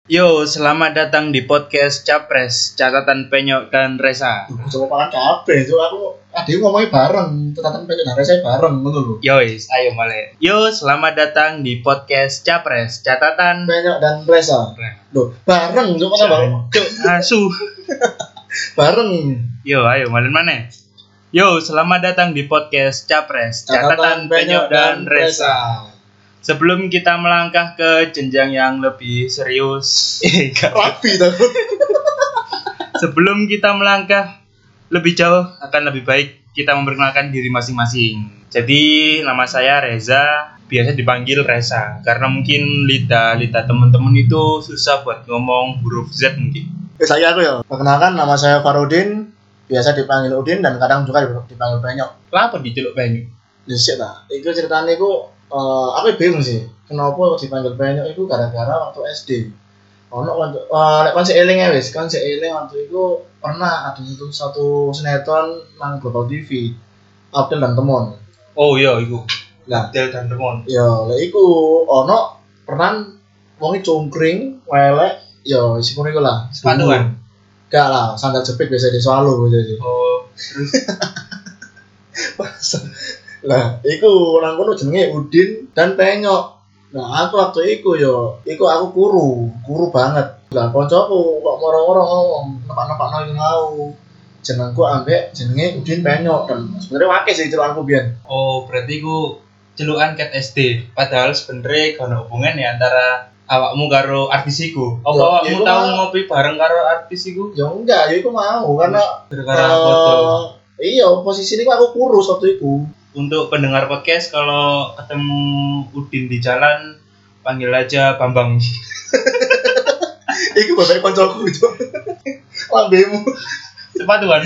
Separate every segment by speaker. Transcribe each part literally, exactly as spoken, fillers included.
Speaker 1: Yo, selamat datang di podcast Capres, catatan Penyok dan Resa.
Speaker 2: Coba pakai kabeh, itu aku adik ngomongnya bareng, catatan pengen hari saya bareng gitu loh.
Speaker 1: Yois, ayo mulai. Yo, selamat datang di podcast Capres, catatan
Speaker 2: Penyok dan Resa. Loh, bareng, coba kan bareng.
Speaker 1: Cuk, asu.
Speaker 2: Bareng.
Speaker 1: Yo, ayo mulai mana? Yo, selamat datang di podcast Capres, catatan Penyok dan Resa. Sebelum kita melangkah ke jenjang yang lebih serius, eh, enggak.
Speaker 2: Rapi takut.
Speaker 1: Sebelum kita melangkah lebih jauh, akan lebih baik kita memperkenalkan diri masing-masing. Jadi, nama saya Reza, biasa dipanggil Resa, karena mungkin lidah-lidah teman-teman itu susah buat ngomong huruf Z mungkin.
Speaker 2: Eh, saya aku ya. Perkenalkan, nama saya Farudin, biasa dipanggil Udin dan kadang juga dipanggil Penyok.
Speaker 1: Kenapa diceluk Penyok?
Speaker 2: Disik lah. Itu ceritanya itu, uh, aku bingung sih. Kenapa dipanggil Penyok itu gara-gara waktu S D. Ono waktu uh, lek kon sik eling ya wis, kon sik eling waktu itu pernah ada itu satu sinetron nang Global T V. Abdel dan Temon.
Speaker 1: Oh iya, itu.
Speaker 2: Nah,
Speaker 1: Abdel dan Temon.
Speaker 2: ya lek iku ono peran wonge cungkring, welek, ya sing ngono iku lah.
Speaker 1: Sepatuan.
Speaker 2: Enggak lah, sandal jepit biasa di Solo biasa sih.
Speaker 1: Oh, terus
Speaker 2: Lah, iku nang kono jenenge Udin dan Penyok. Nah, aku waktu iku yo, iku aku kuru, kuru banget. Lah koncoku kok moro-moro ngomong, nepak-nepakno iki mau. Jenengku ambek jenenge Udin Penyok dan sebenarnya wakil sih celukanku biyen.
Speaker 1: oh, berarti ku celukan ket S D. Padahal sebenarnya gak ada hubungan ya antara awakmu karo artis iku. Apa
Speaker 2: Yo,
Speaker 1: awakmu
Speaker 2: iku
Speaker 1: tau
Speaker 2: mah-
Speaker 1: ngopi bareng karo artis iku?
Speaker 2: Ya enggak, ya iku mau karena
Speaker 1: Gara-gara
Speaker 2: eh,
Speaker 1: foto.
Speaker 2: iya, posisi ini aku kurus waktu itu.
Speaker 1: Untuk pendengar podcast, kalau ketemu Udin di jalan, panggil aja Bambang.
Speaker 2: Iku bapak koncoku itu. Lambemu.
Speaker 1: Sepatuan.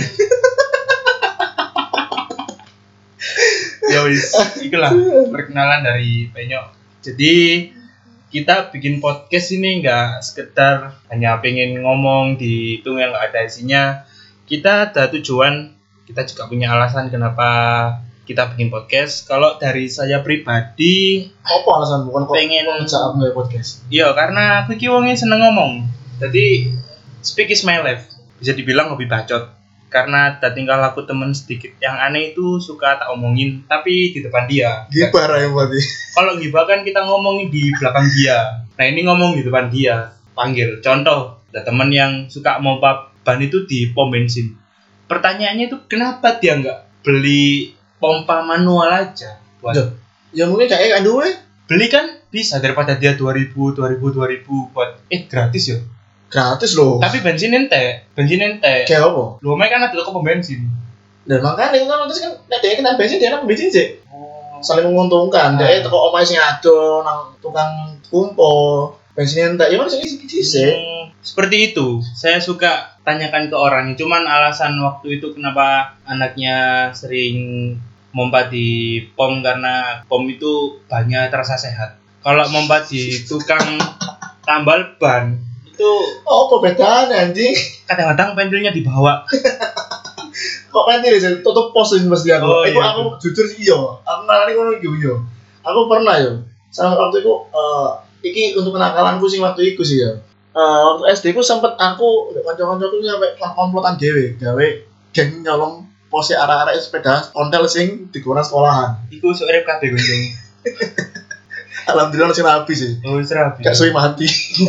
Speaker 1: Ya wis, itulah perkenalan dari Penyok. Jadi kita bikin podcast ini nggak sekedar hanya pengen ngomong di itu yang nggak ada isinya. Kita ada tujuan, kita juga punya alasan kenapa kita bikin podcast. Kalau dari saya pribadi,
Speaker 2: Apa alasan bukan kok
Speaker 1: Pengen-
Speaker 2: ngejak aku nge podcast?
Speaker 1: iya karena aku iki wonge seneng ngomong. Jadi speak is my life. Bisa dibilang hobi bacot. Karena ada tingkah laku temen sedikit yang aneh itu suka tak omongin tapi di depan dia.
Speaker 2: Gibar ya berarti.
Speaker 1: Kalau gibah kan kita ngomongin di belakang dia. Nah ini ngomong di depan dia. Panggil. Contoh, ada temen yang suka mompa ban itu di pom bensin. Pertanyaannya itu kenapa dia nggak beli pompa manual aja? Buat
Speaker 2: Duh. Ya mungkin kayak kan duwe.
Speaker 1: beli kan bisa daripada dia dua ribu, dua ribu, dua ribu buat eh gratis ya.
Speaker 2: Gratis loh.
Speaker 1: Tapi bensin ente, bensin ente.
Speaker 2: Kayak apa?
Speaker 1: Lu main kan ada toko pom bensin.
Speaker 2: Dan makanya kan terus kan nek dia kena bensin dia nang bensin sih.
Speaker 1: Oh.
Speaker 2: Saling menguntungkan.
Speaker 1: Ah.
Speaker 2: Dia teko omahe sing ado nang tukang kumpul. Bensin entek ya kan sing isi sih.
Speaker 1: Hmm, seperti itu. Saya suka tanyakan ke orang. Cuman alasan waktu itu kenapa anaknya sering mompa di pom karena pom itu banyak terasa sehat. Kalau mompa di tukang tambal ban itu
Speaker 2: Oh, apa bedanya anjing?
Speaker 1: kadang-kadang pentilnya dibawa.
Speaker 2: Kok kan dia tutup pos sih mesti aku.
Speaker 1: Oh,
Speaker 2: Iku
Speaker 1: iya.
Speaker 2: aku jujur sih iya. Aku ngarani ngono iki yo. Aku pernah yo. Sama waktu itu eh iki untuk kenakalanku sing waktu itu sih ya. Eh waktu S D ku sempet aku nek kanca-kancaku sampe komplotan dhewe gawe geng nyolong pose arek-arek sepeda ontel sing digono sekolahan.
Speaker 1: Iku sok urip kabeh gunjung.
Speaker 2: Alhamdulillah masih rapi sih.
Speaker 1: Oh, serabi.
Speaker 2: Gak suwi mati.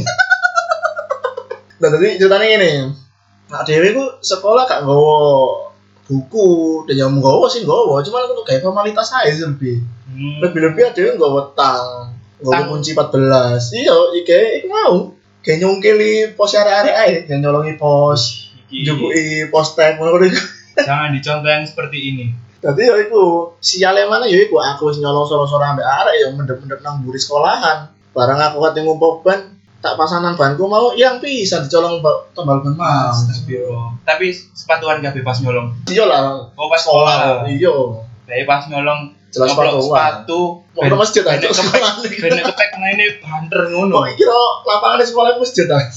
Speaker 2: Nah, tadi ceritanya ini. Nah, dhewe ku sekolah gak nggawa buku, dan yang nggawa sih nggawa, cuma aku tuh kayak formalitas aja sih lebih.
Speaker 1: Hmm.
Speaker 2: Lebih-lebih ada yang nggawa tang, nggawa
Speaker 1: Tang.
Speaker 2: kunci empat belas. Iya, iki iku mau. Kayak nyongkeli pos arek-arek ae, kayak nyolongi pos,
Speaker 1: Iki.
Speaker 2: njupuki pos tag ngono iku.
Speaker 1: Jangan dicontoh yang seperti ini.
Speaker 2: Dadi ya iku, siale mana ya iku aku wis nyolong soro-soro ambek arek ya mendep-mendep nang mburi sekolahan. Barang aku kate ngumpul ban, tak pasanan banku mau yang bisa dicolong ba- tambal ban mas.
Speaker 1: Astagfirullah. Tapi sepatuan gak bebas nyolong.
Speaker 2: Iya lah.
Speaker 1: Oh pas sekolah.
Speaker 2: Iya.
Speaker 1: Tapi pas nyolong
Speaker 2: Jelas
Speaker 1: nyoblok
Speaker 2: sepatuan.
Speaker 1: sepatu.
Speaker 2: Mau ke masjid aja
Speaker 1: benek
Speaker 2: sekolah.
Speaker 1: kepek, benek kepek mainnya banter ngono.
Speaker 2: Kok kira lapangan di sekolah itu masjid aja.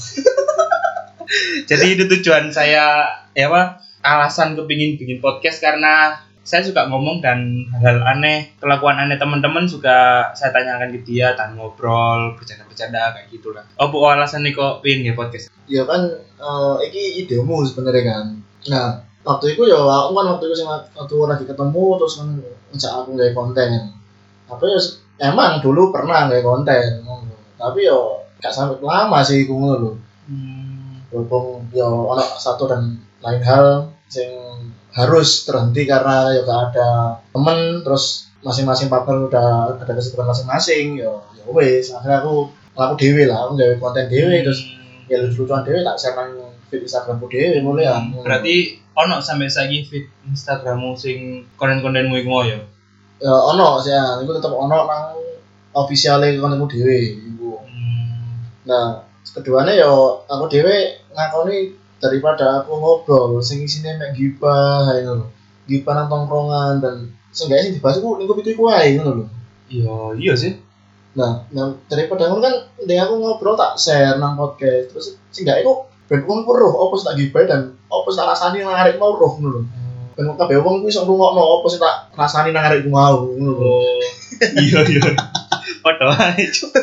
Speaker 1: Jadi itu tujuan saya ya apa? Alasan kepingin bikin podcast karena saya suka ngomong dan hal-hal aneh, kelakuan aneh teman-teman juga saya tanyakan ke dia dan ngobrol, bercanda-bercanda kayak gitulah. Oh, bu alasan nih kok pin ya podcast?
Speaker 2: Ya kan, uh, iki idemu sebenarnya kan. Nah, waktu itu ya aku kan waktu itu sing waktu lagi ketemu terus kan ngajak aku gawe konten. Tapi ya emang dulu pernah gawe konten, tapi yo gak sampai lama sih iku ngono lho. Hmm. Walaupun yo ono satu dan lain hal sing harus terhenti karena ya gak ada temen, terus masing-masing partner udah ada kesibukan masing-masing, yo ya wes akhirnya aku aku dewe lah, aku gawe konten dewe hmm. terus ya lucu-lucuan dewe tak share nang feed Instagramku dewe mulai ya.
Speaker 1: Hmm. Berarti ono sampai saiki feed Instagrammu sing konten-kontenmu iku ya?
Speaker 2: Ya ono sih ya, iku tetep ono nang officiale kontenku dewe iku. Hmm. Nah, keduanya yo aku dewe ngakoni daripada aku ngobrol sing isine mek gibah ae ngono. Gibah nang tongkrongan dan seenggaknya sing dibahas iku lingkup itu iku ae ngono lho.
Speaker 1: Iya, iya sih.
Speaker 2: Nah, nah daripada ngono kan ndek aku ngobrol tak share nang podcast. Terus seenggaknya iku ben wong roh opo sing tak gibah dan opo sing tak rasani nang arek mau roh ngono lho. Ben kabeh wong kuwi iso ngrungokno opo sing tak rasani nang arek mau ngono lho.
Speaker 1: Oh. Iya, iya. Padha ae.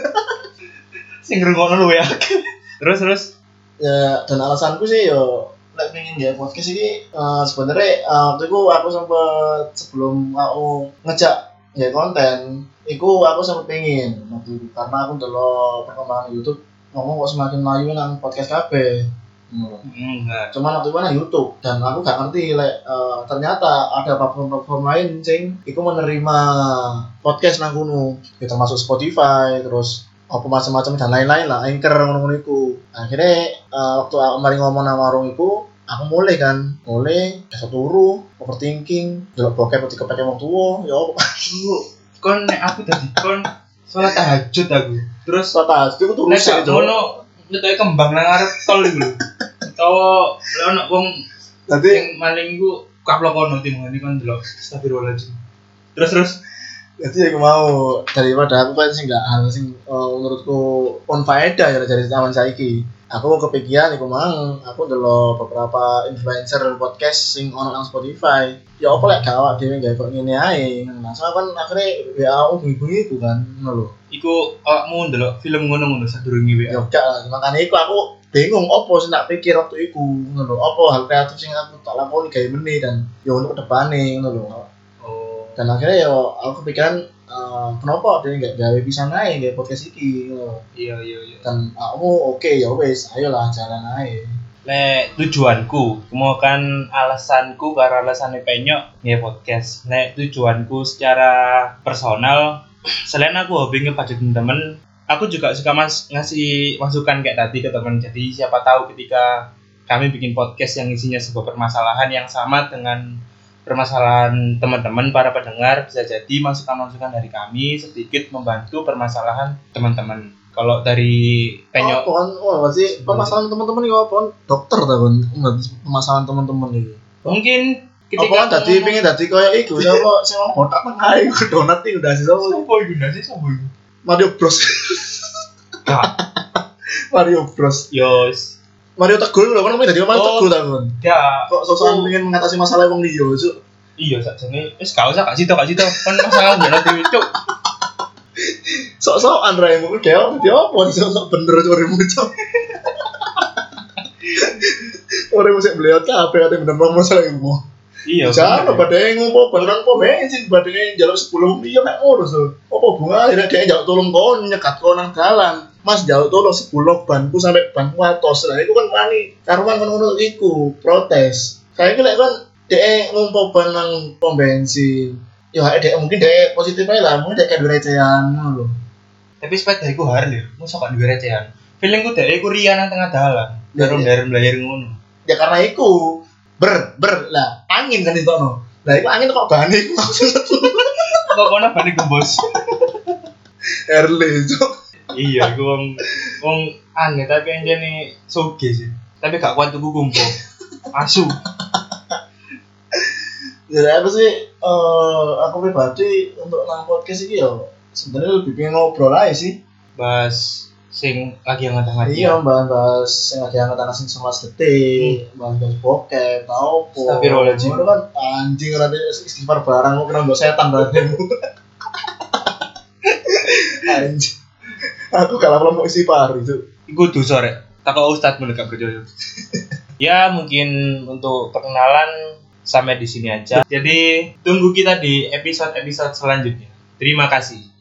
Speaker 1: Sing ngrungokno luwe akeh. Terus terus
Speaker 2: ya dan alasanku sih yo lek pengen nggak podcast ini uh, sebenarnya uh, waktu itu aku sempat sebelum aku ngejak nggak konten, itu aku sempat pengen waktu itu karena aku dulu perkembangan YouTube ngomong kok semakin maju nang podcast kafe. Hmm. Cuman waktu itu nang YouTube dan aku gak ngerti lek uh, ternyata ada platform-platform lain sing iku menerima podcast nang kono, ya termasuk Spotify terus apa macam-macam dan lain-lain lah, Anchor ngono-ngono iku. Akhirnya uh, waktu aku mari ngomong nang warung iku, aku mulai kan, mulai biasa turu, overthinking, delok bokep ketika pakai wong tuwa, ya apa.
Speaker 1: Kon nek aku dadi kon salat tahajud aku. Terus
Speaker 2: salat tahajud iku turu sik
Speaker 1: to. Ngono nyetok kembang nang arep tol iku lho. Utawa lek ono wong dadi sing maling iku kaplok kono timane kon delok astagfirullahaladzim. Terus terus
Speaker 2: jadi aku mau daripada aku kan sih nggak hal sing uh, menurutku on faedah ya dari zaman saiki. Aku kepikiran aku mang aku dulu beberapa influencer podcast sing ono nang Spotify. Ya apa lek gak awak dhewe gawe kok ngene ae. Nah, so kan akhirnya W A aku bunyi-bunyi iku kan ngono lho.
Speaker 1: Iku awakmu ndelok film ngono-ngono sadurunge W A.
Speaker 2: Ya gak lah, makane iku aku bingung opo sing tak pikir waktu iku ngono lho. Apa hal kreatif sing aku tak lakoni gawe meneh dan ya untuk kedepane ngono lho. Dan akhirnya ya aku kepikiran uh, kenapa dia nggak gawe bisa naik gawe podcast iki gitu.
Speaker 1: Iya iya iya.
Speaker 2: Dan aku oke okay, ya wes ayolah jalan aja.
Speaker 1: Nek tujuanku, mau kan alasanku karena alasannya penyok nge podcast. Nek tujuanku secara personal, selain aku hobi ngepacu temen, aku juga suka mas ngasih masukan kayak tadi ke temen. Jadi siapa tahu ketika kami bikin podcast yang isinya sebuah permasalahan yang sama dengan permasalahan teman-teman para pendengar, bisa jadi masukan-masukan dari kami sedikit membantu permasalahan teman-teman. Kalau dari penyok,
Speaker 2: oh, kan, oh, masih permasalahan teman-teman ini apa? Dokter ta kan, permasalahan teman-teman ini.
Speaker 1: Mungkin
Speaker 2: ketika apa tadi pengen tadi kayak iku, siapa sing botak nang ae donat iki udah sih sapa?
Speaker 1: Sopo iku udah sih sapa iku?
Speaker 2: Mario Bros. Mario Bros.
Speaker 1: Yos.
Speaker 2: Mario Teguh lho, kan namanya dadi Mario
Speaker 1: oh,
Speaker 2: Teguh ta kan.
Speaker 1: Ya,
Speaker 2: kok sosokan pengen mengatasi masalah wong liya, Cuk.
Speaker 1: Iya, sakjane wis gak usah gak sito gak sito. Kan masalah ngono dhewe, Cuk.
Speaker 2: Sok-sokan raemu dhewe dadi opo sok bener curimu, Cuk. Ora mesti beliau kabeh ate bener masalah iku.
Speaker 1: Iya.
Speaker 2: Jangan badhe ngopo barang po bensin badhe njaluk sepuluh iya nek ngono so. Apa bunga akhirnya dia njaluk tolong kon nyekat kon nang dalan. Mas jauh tolong sepuluh banku sampai banku atos. Lah iku kan wani karuan ngono iku protes. Kayak iki lek kan dhek ngumpul ban nang pom bensin. Ya dhek mungkin dhek positif ae lah, mungkin dhek duwe recehan ngono lho.
Speaker 1: Tapi sepeda iku har lho, mosok gak duwe recehan. Feelingku dhek iku riya nang tengah dalan. Darung-darung blayar ngono.
Speaker 2: Ya karena iku ber ber lah angin kan ditokno. Lah iku angin kok bane iku langsung
Speaker 1: kok kono bane gembos.
Speaker 2: Erle cuk.
Speaker 1: Iya, gue wong wong aneh tapi anjene soge sih. Tapi gak kuat tuku kumpo. Asu.
Speaker 2: Jadi apa sih uh, aku pribadi untuk nang podcast iki ya sebenarnya lebih pengen ngobrol aja sih.
Speaker 1: Bahas sing lagi hangat-hangat.
Speaker 2: Iya, bahas yang lagi hangat-hangat sing sebelas detik, bahas-bahas bokep, tau po.
Speaker 1: Astagfirullahaladzim.
Speaker 2: Ngono kan anjing rada istighfar barang lu kena mbok setan berarti. Anjing. Aku kalah mau istighfar itu.
Speaker 1: Iku dosa rek. Takok ustaz mun gak percaya. Ya, mungkin untuk perkenalan sampai di sini aja. Jadi, tunggu kita di episode-episode selanjutnya. Terima kasih.